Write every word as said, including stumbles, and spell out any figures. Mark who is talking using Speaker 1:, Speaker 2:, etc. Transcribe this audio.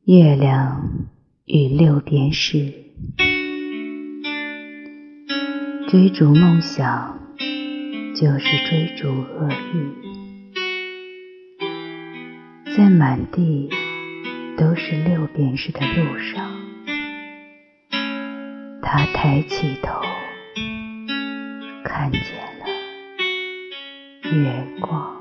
Speaker 1: 月亮与六便士，追逐梦想就是追逐厄运。在满地都是六便士的路上，他抬起头，看见了月光。